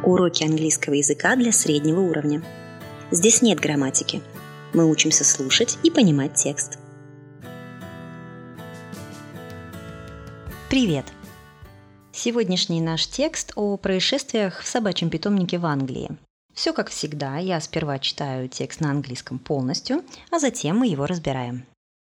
Уроки английского языка для среднего уровня. Здесь нет грамматики. Мы учимся слушать и понимать текст. Привет! Сегодняшний наш текст о происшествиях в собачьем питомнике в Англии. Все как всегда, я сперва читаю текст на английском полностью, а затем мы его разбираем.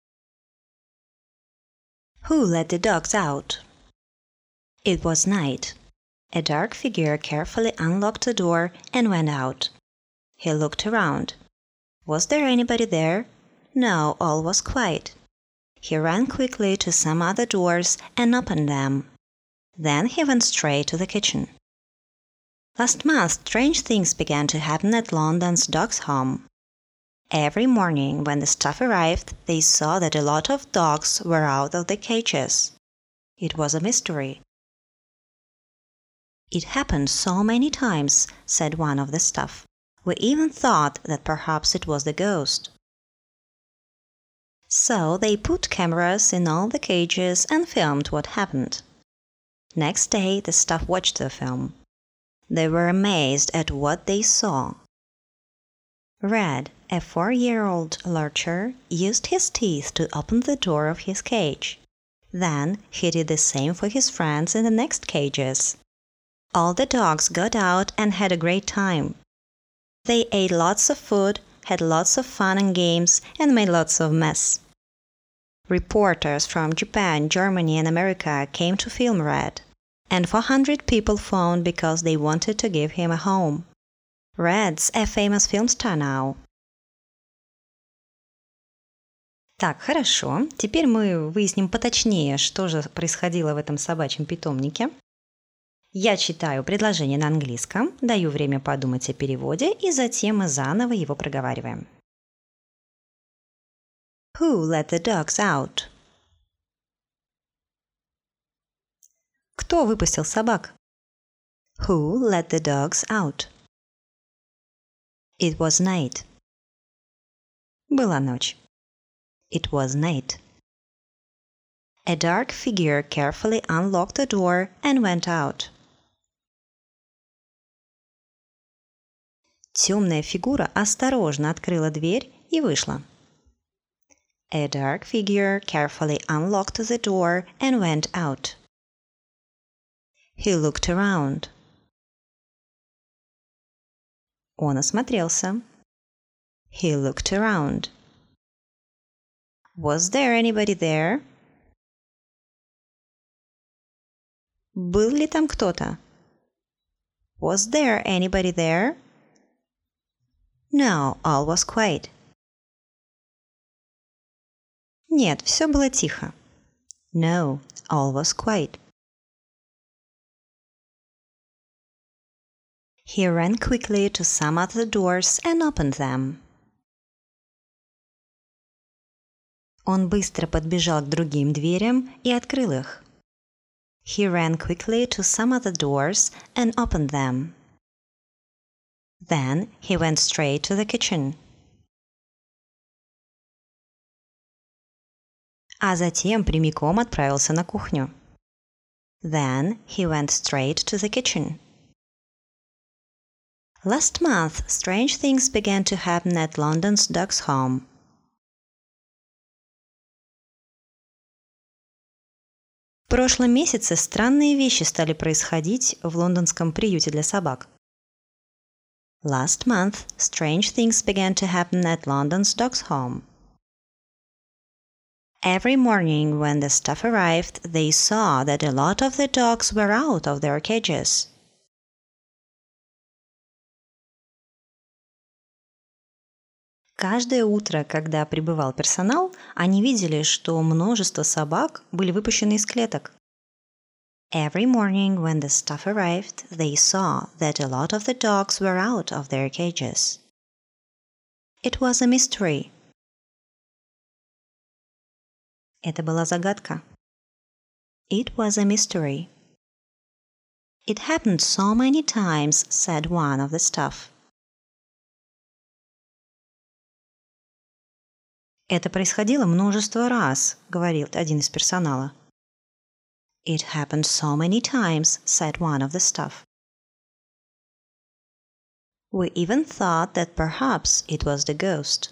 Who let the dogs out? It was night. A dark figure carefully unlocked the door and went out. He looked around. Was there anybody there? No, all was quiet. He ran quickly to some other doors and opened them. Then he went straight to the kitchen. Last month, strange things began to happen at London's Dogs' Home. Every morning when the staff arrived, they saw that a lot of dogs were out of the cages. It was a mystery. It happened so many times, said one of the staff. We even thought that perhaps it was the ghost. So they put cameras in all the cages and filmed what happened. Next day, the staff watched the film. They were amazed at what they saw. Red, a 4-year-old lurcher, used his teeth to open the door of his cage. Then he did the same for his friends in the next cages. All the dogs got out and had a great time. They ate lots of food, had lots of fun and games, and made lots of mess. Reporters from Japan, Germany, and America came to film Red, and 400 people phoned because they wanted to give him a home. Red's a famous film star now. Так, хорошо. Теперь мы выясним поточнее, что же происходило в этом собачьем питомнике. Я читаю предложение на английском, даю время подумать о переводе, и затем мы заново его проговариваем. Who let the dogs out? Кто выпустил собак? Who let the dogs out? It was night. Была ночь. It was night. A dark figure carefully unlocked the door and went out. Темная фигура осторожно открыла дверь и вышла. A dark figure carefully unlocked the door and went out. He looked around. Он осмотрелся. He looked around. Was there anybody there? Был ли там кто-то? Was there anybody there? No, all was quiet. Нет, все было тихо. No, all was quiet. He ran quickly to some other doors and opened them. Он быстро подбежал к другим дверям и открыл их. He ran quickly to some other doors and opened them. Then he went straight to the kitchen. А затем прямиком отправился на кухню. Then he went straight to the kitchen. Last month, strange things began to happen at London's Dogs' Home. В прошлом месяце странные вещи стали происходить в лондонском приюте для собак. Last month, strange things began to happen at London's Dogs' Home. Every morning when the staff arrived, they saw that a lot of the dogs were out of their cages. Каждое утро, когда прибывал персонал, они видели, что множество собак были выпущены из клеток. Every morning when the staff arrived, they saw that a lot of the dogs were out of their cages. It was a mystery. Это была загадка. It was a mystery. It happened so many times, said one of the staff. Это происходило множество раз, говорил один из персонала. It happened so many times, said one of the staff. We even thought that perhaps it was the ghost.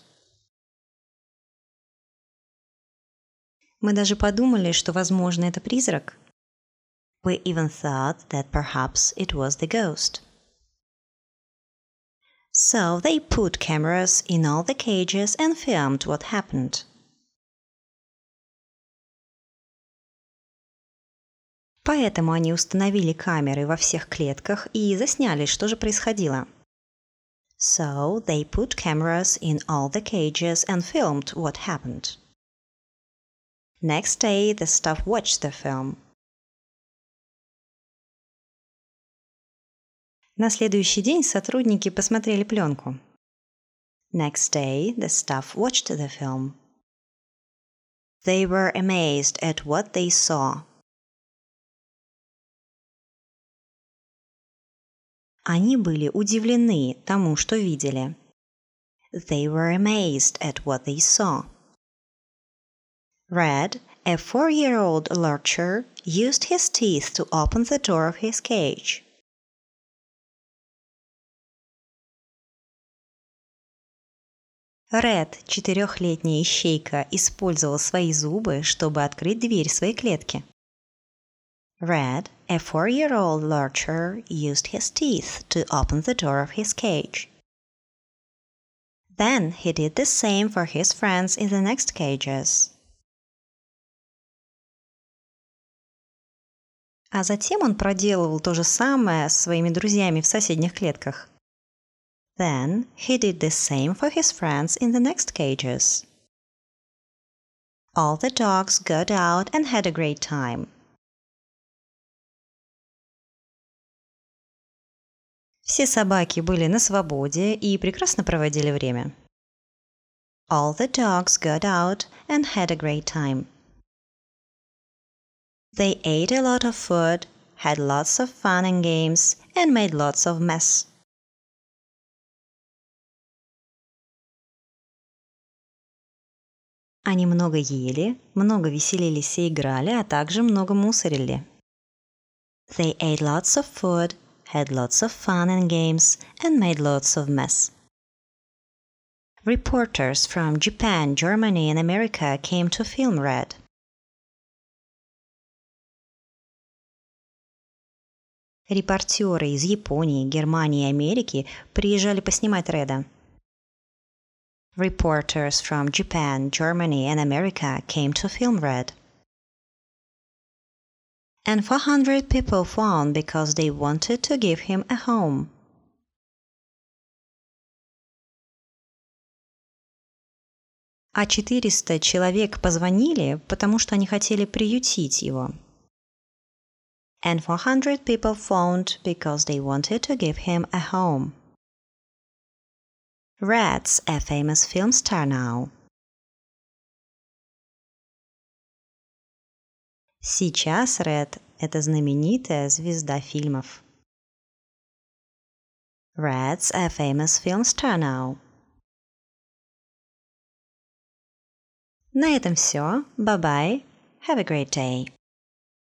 Мы даже подумали, что, возможно, это призрак. We even thought that perhaps it was the ghost. So they put cameras in all the cages and filmed what happened. Поэтому они установили камеры во всех клетках и засняли, что же происходило. So they put cameras in all the cages and filmed what happened. Next day, the staff watched the film. На следующий день сотрудники посмотрели пленку. Next day, the staff watched the film. They were amazed at what they saw. Они были удивлены тому, что видели. They were amazed at what they saw. Red, a 4-year-old lurcher, used his teeth to open the door of his cage. Ред, 4-летняя ищейка, использовал свои зубы, чтобы открыть дверь своей клетки. Red, a 4-year-old lurcher, used his teeth to open the door of his cage. Then he did the same for his friends in the next cages. А затем он проделывал то же самое с своими друзьями в соседних клетках. Then he did the same for his friends in the next cages. All the dogs got out and had a great time. Все собаки были на свободе и прекрасно проводили время. All the dogs got out and had a great time. They ate a lot of food, had lots of fun and games, and made lots of mess. Они много ели, много веселились и играли, а также много мусорили. They ate lots of food, had lots of fun and games, and made lots of mess. Reporters from Japan, Germany, and America came to film Red. Репортеры из Японии, Германии и Америки приезжали поснимать Реда. Reporters from Japan, Germany, and America came to film Red. And 400 people phoned because they wanted to give him a home. А 400 человек позвонили, потому что они хотели приютить его. And 400 people phoned because they wanted to give him a home. Red's a famous film star now. Сейчас Ред – это знаменитая звезда фильмов. Red's a famous film star now. На этом все. Bye-bye. Have a great day.